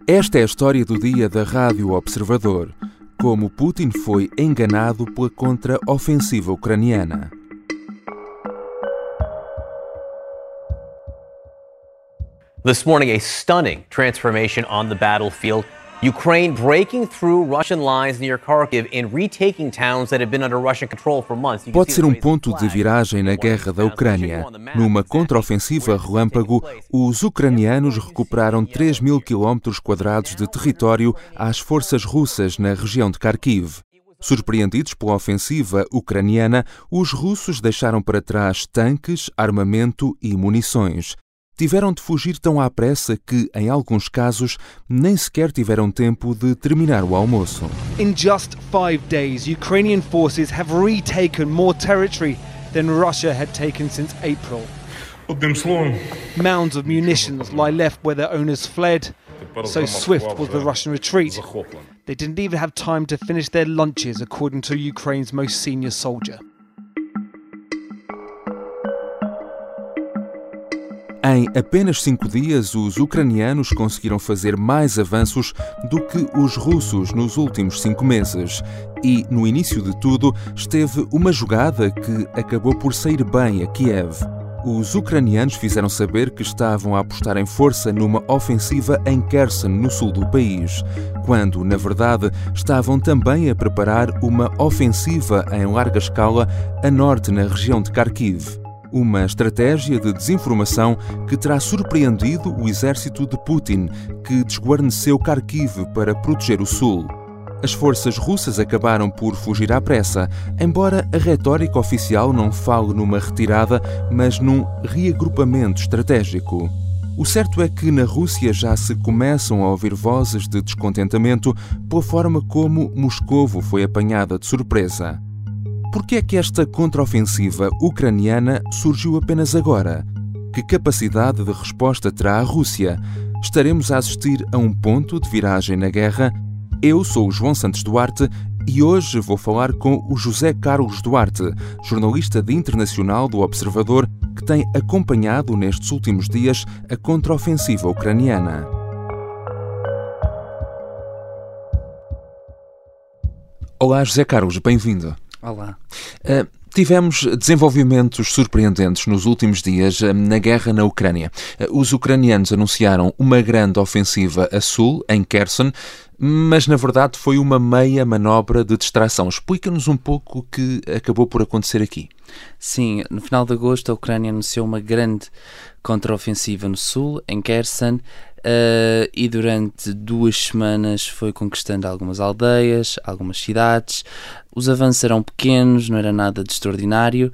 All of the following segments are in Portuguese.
Esta é a história do dia da Rádio Observador. Como Putin foi enganado pela contra-ofensiva ucraniana. This morning, a stunning transformation on the battlefield. Ukraine breaking through Russian lines near Kharkiv and retaking towns that had been under Russian control for months. Pode ser um ponto de viragem na guerra da Ucrânia. Numa contraofensiva relâmpago, os ucranianos recuperaram 3.000 km² de território às forças russas na região de Kharkiv. Surpreendidos pela ofensiva ucraniana, os russos deixaram para trás tanques, armamento e munições. Tiveram de fugir tão à pressa que, em alguns casos, nem sequer tiveram tempo de terminar o almoço. In just 5 days, Ukrainian forces have retaken more territory than Russia had taken since April. Mounds of munitions lie left where their owners fled. So swift was the Russian retreat. They didn't even have time to finish their lunches, according to Ukraine's most senior soldier. Em apenas 5 dias, os ucranianos conseguiram fazer mais avanços do que os russos nos últimos 5 meses. E, no início de tudo, esteve uma jogada que acabou por sair bem a Kiev. Os ucranianos fizeram saber que estavam a apostar em força numa ofensiva em Kherson, no sul do país, quando, na verdade, estavam também a preparar uma ofensiva em larga escala a norte, na região de Kharkiv. Uma estratégia de desinformação que terá surpreendido o exército de Putin, que desguarneceu Kharkiv para proteger o sul. As forças russas acabaram por fugir à pressa, embora a retórica oficial não fale numa retirada, mas num reagrupamento estratégico. O certo é que na Rússia já se começam a ouvir vozes de descontentamento pela forma como Moscovo foi apanhada de surpresa. Por que é que esta contraofensiva ucraniana surgiu apenas agora? Que capacidade de resposta terá a Rússia? Estaremos a assistir a um ponto de viragem na guerra? Eu sou o João Santos Duarte e hoje vou falar com o José Carlos Duarte, jornalista de internacional do Observador, que tem acompanhado nestes últimos dias a contraofensiva ucraniana. Olá, José Carlos, bem-vindo. Olá. Tivemos desenvolvimentos surpreendentes nos últimos dias na guerra na Ucrânia. Os ucranianos anunciaram uma grande ofensiva a sul, em Kherson, mas na verdade foi uma meia manobra de distração. Explica-nos um pouco o que acabou por acontecer aqui. Sim, no final de agosto a Ucrânia anunciou uma grande contraofensiva no sul, em Kherson, e durante 2 semanas foi conquistando algumas aldeias, algumas cidades. Os avanços eram pequenos, não era nada de extraordinário,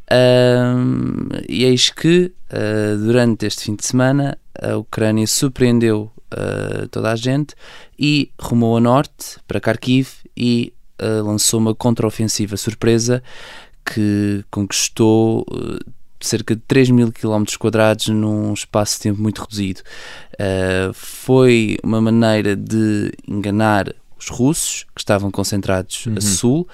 e eis que durante este fim de semana a Ucrânia surpreendeu toda a gente e rumou a norte para Kharkiv e lançou uma contraofensiva surpresa que conquistou cerca de 3.000 km² num espaço de tempo muito reduzido. Foi uma maneira de enganar os russos, que estavam concentrados a sul,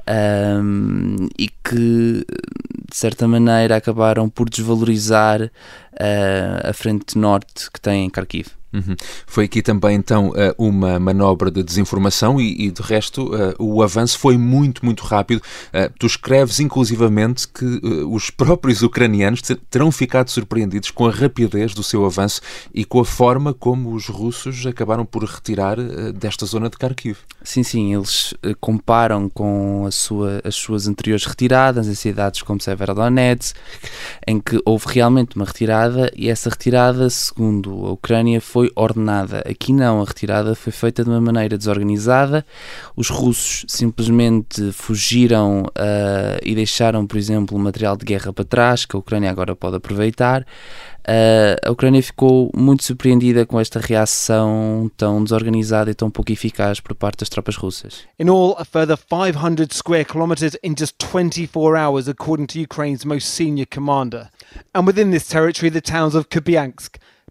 e que, de certa maneira, acabaram por desvalorizar a frente norte que tem em Kharkiv. Foi aqui também, então, uma manobra de desinformação e de resto, o avanço foi muito, muito rápido. Tu escreves, inclusivamente, que os próprios ucranianos terão ficado surpreendidos com a rapidez do seu avanço e com a forma como os russos acabaram por retirar desta zona de Kharkiv. Sim, eles comparam com as suas anteriores retiradas em cidades como Severodonetsk, em que houve realmente uma retirada e essa retirada, segundo a Ucrânia, foi ordenada. Aqui não, a retirada foi feita de uma maneira desorganizada. Os russos simplesmente fugiram e deixaram, por exemplo, o material de guerra para trás, que a Ucrânia agora pode aproveitar. A Ucrânia ficou muito surpreendida com esta reação tão desorganizada e tão pouco eficaz por parte das tropas russas. In all, a further 500 square kilometers in just 24 hours, according to Ukraine's most senior commander. And within this territory, the towns of Kupiansk,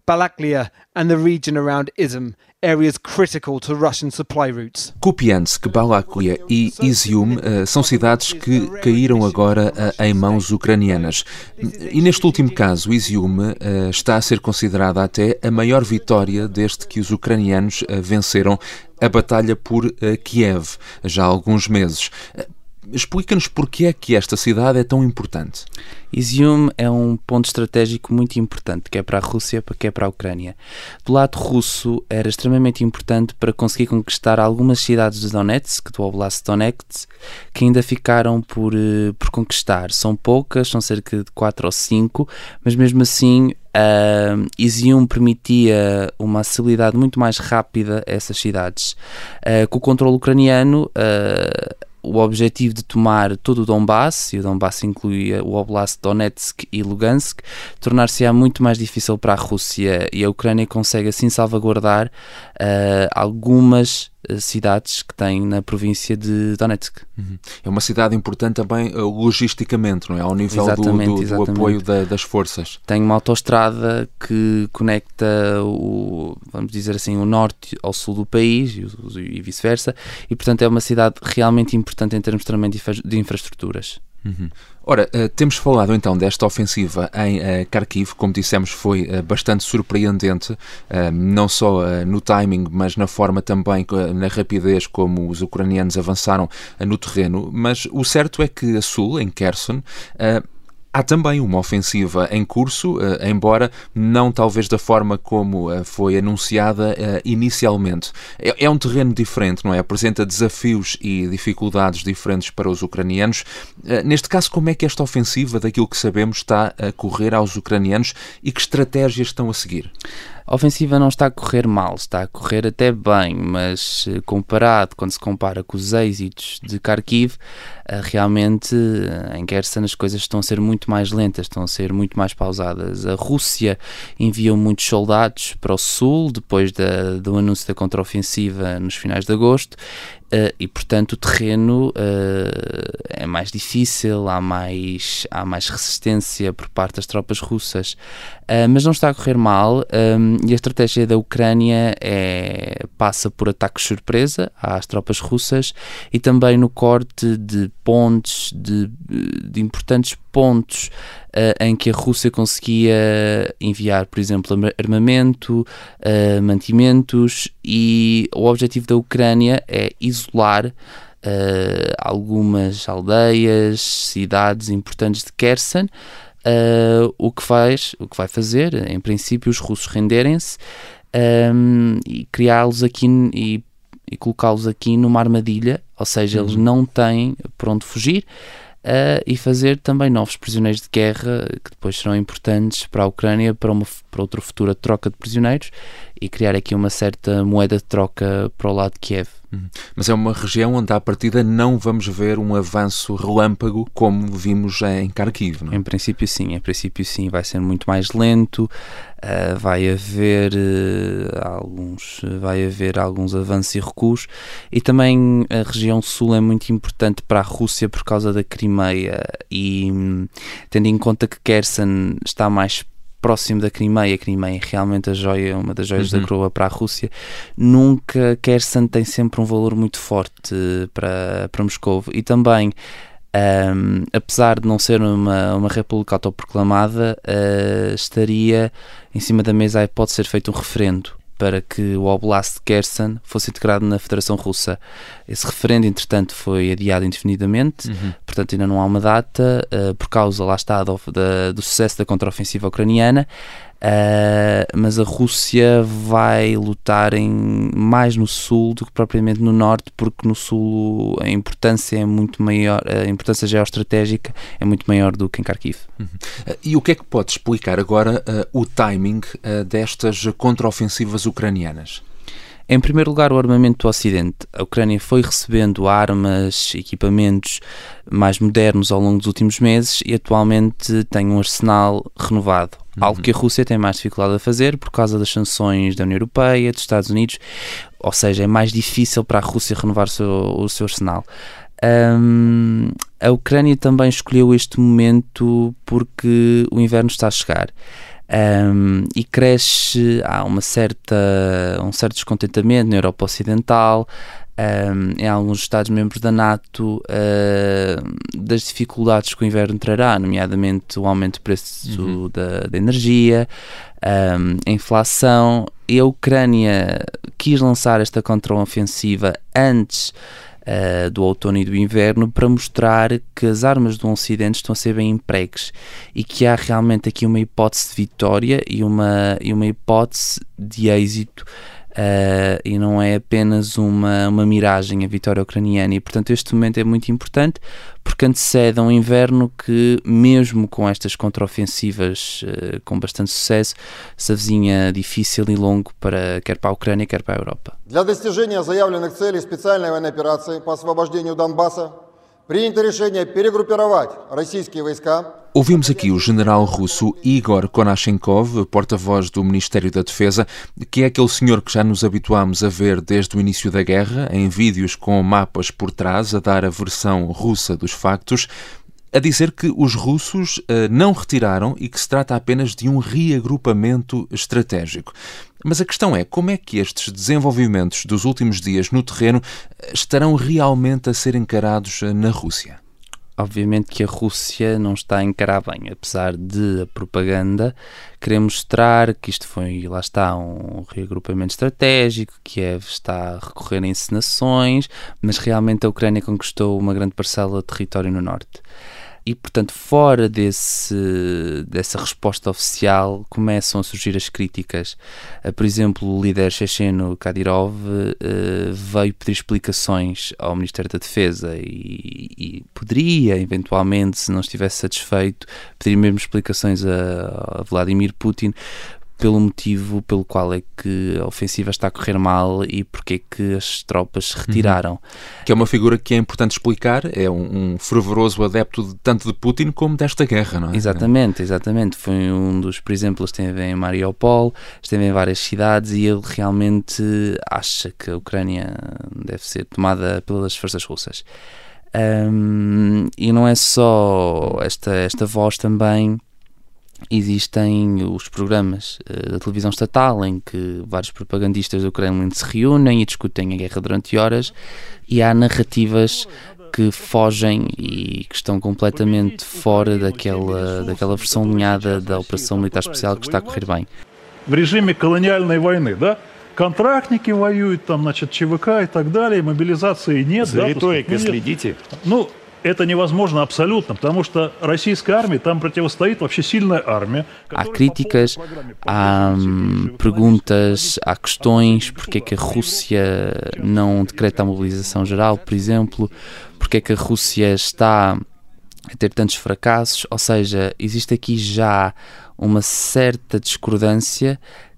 Balaklia and the region around Izum, areas critical to Russian supply routes. Kupiansk, Balaklia e Izium são cidades que caíram agora em mãos ucranianas. E neste último caso, Izium está a ser considerada até a maior vitória desde que os ucranianos venceram a batalha por Kiev, já há alguns meses. Explica-nos porque é que esta cidade é tão importante. Izium é um ponto estratégico muito importante, quer para a Rússia, quer para a Ucrânia. Do lado russo, era extremamente importante para conseguir conquistar algumas cidades de Donetsk, do Oblast de Donetsk, que ainda ficaram por conquistar. São poucas, são cerca de 4 ou 5, mas mesmo assim Izium permitia uma acessibilidade muito mais rápida a essas cidades. Com o controle ucraniano, o objetivo de tomar todo o Donbass, e o Donbass incluía o Oblast de Donetsk e Lugansk, tornar-se-á muito mais difícil para a Rússia, e a Ucrânia consegue assim salvaguardar algumas cidades que tem na província de Donetsk. É uma cidade importante também logisticamente, não é? Ao nível do apoio das forças. Tem uma autoestrada que conecta vamos dizer assim, o norte ao sul do país e vice-versa, e portanto é uma cidade realmente importante em termos também de infraestruturas. Ora, temos falado então desta ofensiva em Kharkiv, como dissemos foi bastante surpreendente, não só no timing, mas na forma também, na rapidez como os ucranianos avançaram no terreno, mas o certo é que a sul, em Kherson, há também uma ofensiva em curso, embora não talvez da forma como foi anunciada inicialmente. É um terreno diferente, não é? Apresenta desafios e dificuldades diferentes para os ucranianos. Neste caso, como é que esta ofensiva, daquilo que sabemos, está a correr aos ucranianos e que estratégias estão a seguir? A ofensiva não está a correr mal, está a correr até bem, mas quando se compara com os êxitos de Kharkiv, realmente em Kherson as coisas estão a ser muito mais lentas, estão a ser muito mais pausadas. A Rússia enviou muitos soldados para o sul, depois do anúncio da contraofensiva nos finais de agosto, e portanto o terreno é mais difícil, há mais resistência por parte das tropas russas, mas não está a correr mal, e a estratégia da Ucrânia passa por ataques surpresa às tropas russas e também no corte de pontes, de importantes pontos em que a Rússia conseguia enviar, por exemplo, armamento, mantimentos, e o objetivo da Ucrânia é isolar algumas aldeias, cidades importantes de Kherson, o que vai fazer, em princípio, os russos renderem-se e criá-los aqui e colocá-los aqui numa armadilha, ou seja, eles não têm por onde fugir, e fazer também novos prisioneiros de guerra que depois serão importantes para a Ucrânia para outra futura troca de prisioneiros, e criar aqui uma certa moeda de troca para o lado de Kiev. Mas é uma região onde à partida não vamos ver um avanço relâmpago como vimos em Kharkiv, não é? Em princípio sim, vai ser muito mais lento, vai haver alguns avanços e recuos, e também a região sul é muito importante para a Rússia por causa da Crimeia, e tendo em conta que Kherson está mais próximo da Crimeia, a Crimeia é realmente uma das joias da coroa para a Rússia, nunca Kherson tem sempre um valor muito forte para Moscou, e também apesar de não ser uma república autoproclamada, estaria em cima da mesa a hipótese de ser feito um referendo para que o Oblast de Kherson fosse integrado na Federação Russa. Esse referendo, entretanto, foi adiado indefinidamente, portanto ainda não há uma data, por causa, lá está, do sucesso da contraofensiva ucraniana, mas a Rússia vai lutar mais no sul do que propriamente no norte, porque no sul a importância é muito maior, a importância geoestratégica é muito maior do que em Kharkiv. E o que é que pode explicar agora o timing destas contraofensivas ucranianas? Em primeiro lugar, o armamento do Ocidente. A Ucrânia foi recebendo armas, equipamentos mais modernos ao longo dos últimos meses e atualmente tem um arsenal renovado. Algo que a Rússia tem mais dificuldade a fazer por causa das sanções da União Europeia, dos Estados Unidos, ou seja, é mais difícil para a Rússia renovar o seu arsenal. A Ucrânia também escolheu este momento porque o inverno está a chegar. e cresce, há um certo descontentamento na Europa Ocidental, em alguns Estados-membros da NATO, das dificuldades que o inverno trará, nomeadamente o aumento do preço da energia, a inflação, e a Ucrânia quis lançar esta contraofensiva antes do outono e do inverno para mostrar que as armas do Ocidente estão a ser bem empregues e que há realmente aqui uma hipótese de vitória e uma hipótese de êxito, e não é apenas uma miragem a vitória ucraniana. E portanto este momento é muito importante porque antecede a um inverno que, mesmo com estas contraofensivas com bastante sucesso, se avizinha difícil e longo quer para a Ucrânia, quer para a Europa. Для достижения заявленных целей специальной военной операции по освобождению Донбасса принято решение перегруппировать российские войска. Ouvimos aqui o general russo Igor Konashenkov, porta-voz do Ministério da Defesa, que é aquele senhor que já nos habituámos a ver desde o início da guerra, em vídeos com mapas por trás, a dar a versão russa dos factos, a dizer que os russos não retiraram e que se trata apenas de um reagrupamento estratégico. Mas a questão é, como é que estes desenvolvimentos dos últimos dias no terreno estarão realmente a ser encarados na Rússia? Obviamente que a Rússia não está a encarar bem, apesar de a propaganda querer mostrar que isto foi, lá está, um reagrupamento estratégico, Kiev está a recorrer a encenações, mas realmente a Ucrânia conquistou uma grande parcela de território no norte. E, portanto, fora dessa resposta oficial, começam a surgir as críticas. Por exemplo, o líder checheno Kadyrov veio pedir explicações ao Ministério da Defesa e poderia, eventualmente, se não estivesse satisfeito, pedir mesmo explicações a Vladimir Putin pelo motivo pelo qual é que a ofensiva está a correr mal e porque é que as tropas se retiraram. Que é uma figura que é importante explicar, é um fervoroso adepto tanto de Putin como desta guerra, não é? Exatamente. Foi um dos, por exemplo, esteve em Mariupol, esteve em várias cidades e ele realmente acha que a Ucrânia deve ser tomada pelas forças russas. E não é só esta voz também. Existem os programas da televisão estatal em que vários propagandistas do Kremlin se reúnem e discutem a guerra durante horas, e há narrativas que fogem e que estão completamente fora daquela versão alinhada da operação militar especial que está a correr bem. В режиме колониальной войны, да? Контрактники воюют, там, значит, ЧВК и так далее, мобилизации нет. За риторикой следите? Это невозможно абсолютно, потому что российская армия, там противостоит вообще сильная армия. Há críticas, há perguntas, há questões, porque é que a Rússia não decreta a mobilização geral, por exemplo, porque é que a Rússia está a ter tantos fracassos, ou seja, existe aqui já uma certa discordância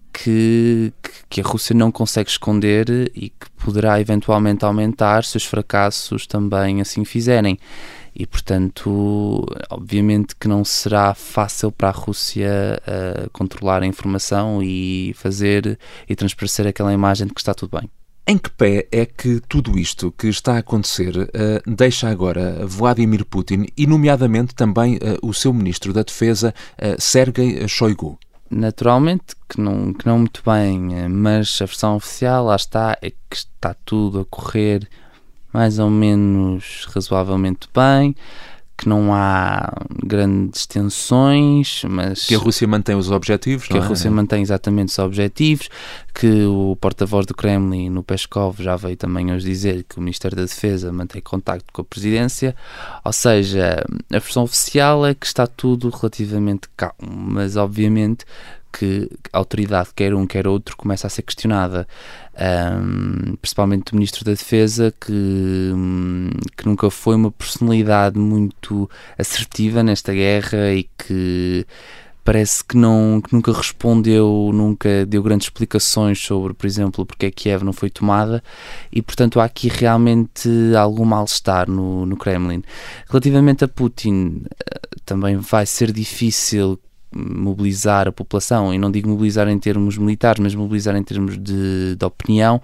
que a Rússia não consegue esconder e que poderá eventualmente aumentar se os fracassos também assim fizerem. E, portanto, obviamente que não será fácil para a Rússia controlar a informação e fazer e transparecer aquela imagem de que está tudo bem. Em que pé é que tudo isto que está a acontecer deixa agora Vladimir Putin e, nomeadamente, também o seu ministro da Defesa, Sergei Shoigu? Naturalmente que não muito bem, mas a versão oficial, lá está, é que está tudo a correr mais ou menos razoavelmente bem, que não há grandes tensões, mas que a Rússia mantém os objetivos, que a Rússia mantém exatamente os objetivos, que o porta-voz do Kremlin, o Peskov, já veio também hoje dizer que o Ministério da Defesa mantém contacto com a presidência, ou seja, a versão oficial é que está tudo relativamente calmo, mas obviamente que a autoridade, quer um quer outro, começa a ser questionada, principalmente o Ministro da Defesa, que nunca foi uma personalidade muito assertiva nesta guerra e que parece que nunca respondeu, nunca deu grandes explicações sobre, por exemplo, porque é que Kiev não foi tomada, e portanto há aqui realmente algum mal-estar no Kremlin. Relativamente a Putin, também vai ser difícil mobilizar a população, e não digo mobilizar em termos militares, mas mobilizar em termos de opinião,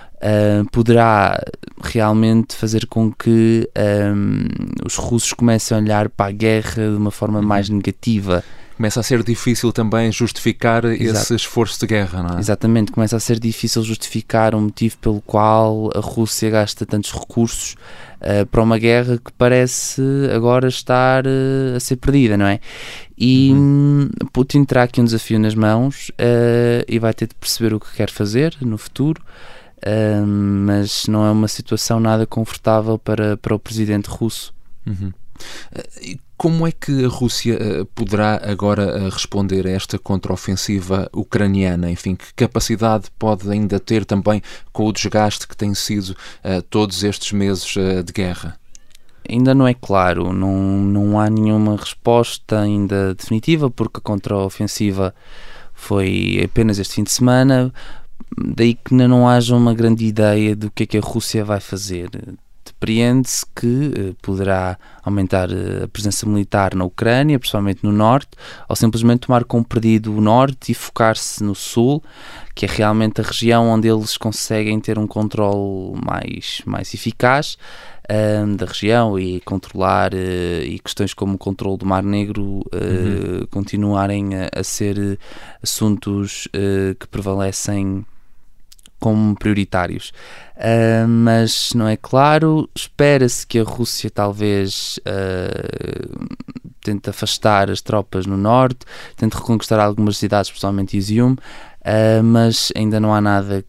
poderá realmente fazer com que os russos comecem a olhar para a guerra de uma forma mais negativa. Começa a ser difícil também justificar esse esforço de guerra, não é? Exatamente, começa a ser difícil justificar o motivo pelo qual a Rússia gasta tantos recursos para uma guerra que parece agora estar a ser perdida, não é? E Putin terá aqui um desafio nas mãos e vai ter de perceber o que quer fazer no futuro, mas não é uma situação nada confortável para o presidente russo. Como é que a Rússia poderá agora responder a esta contraofensiva ucraniana? Enfim, que capacidade pode ainda ter também com o desgaste que tem sido todos estes meses de guerra? Ainda não é claro, não há nenhuma resposta ainda definitiva, porque a contraofensiva foi apenas este fim de semana, daí que ainda não haja uma grande ideia do que é que a Rússia vai fazer. Depreende-se que poderá aumentar a presença militar na Ucrânia, principalmente no norte, ou simplesmente tomar como perdido o norte e focar-se no sul, que é realmente a região onde eles conseguem ter um controle mais eficaz da região e controlar, e questões como o controle do Mar Negro continuarem a ser assuntos que prevalecem como prioritários. Mas não é claro. Espera-se que a Rússia talvez tente afastar as tropas no norte, tente reconquistar algumas cidades, especialmente Izium, mas ainda não há nada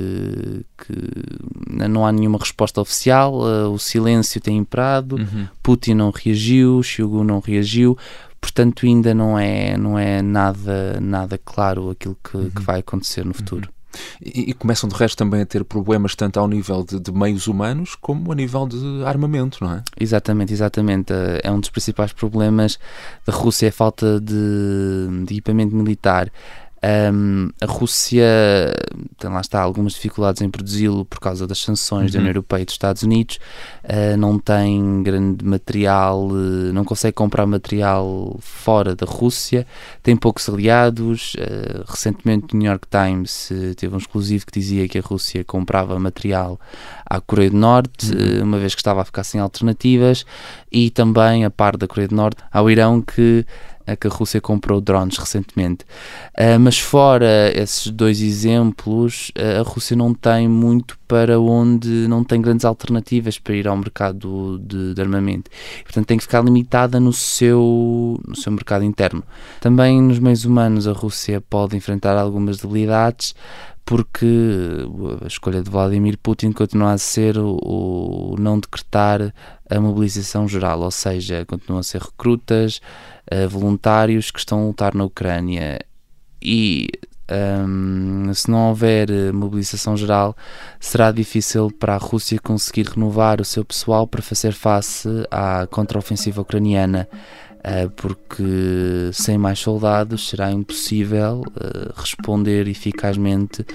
não há nenhuma resposta oficial. O silêncio tem imperado. Putin não reagiu, Shoigu não reagiu, portanto ainda não é nada claro aquilo que vai acontecer no futuro. E começam de resto também a ter problemas tanto ao nível de meios humanos como a nível de armamento, não é? Exatamente. É um dos principais problemas da Rússia, a falta de equipamento militar. A Rússia tem, lá está, algumas dificuldades em produzi-lo por causa das sanções da União Europeia e dos Estados Unidos. Não tem grande material, não consegue comprar material fora da Rússia, tem poucos aliados. Recentemente o New York Times teve um exclusivo que dizia que a Rússia comprava material à Coreia do Norte, uma vez que estava a ficar sem alternativas, e também, a par da Coreia do Norte, ao Irão, que a Rússia comprou drones recentemente. Mas fora esses dois exemplos, a Rússia não tem muito para onde, não tem grandes alternativas para ir ao mercado de armamento. Portanto, tem que ficar limitada no seu mercado interno. Também nos meios humanos a Rússia pode enfrentar algumas debilidades, porque a escolha de Vladimir Putin continua a ser o não decretar a mobilização geral, ou seja, continuam a ser recrutas, voluntários que estão a lutar na Ucrânia, e se não houver mobilização geral, será difícil para a Rússia conseguir renovar o seu pessoal para fazer face à contraofensiva ucraniana, porque sem mais soldados será impossível responder eficazmente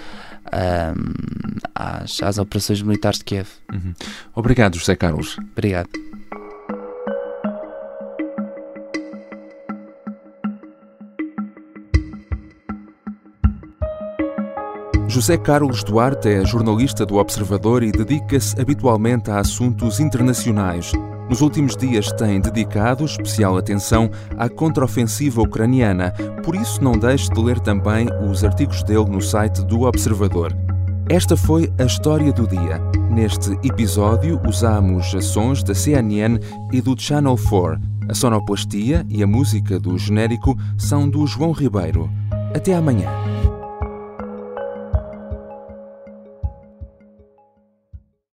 às operações militares de Kiev. Obrigado, José Carlos. Obrigado. José Carlos Duarte é jornalista do Observador e dedica-se habitualmente a assuntos internacionais. Nos últimos dias tem dedicado especial atenção à contraofensiva ucraniana, por isso não deixe de ler também os artigos dele no site do Observador. Esta foi a história do dia. Neste episódio usamos sons da CNN e do Channel 4. A sonoplastia e a música do genérico são do João Ribeiro. Até amanhã.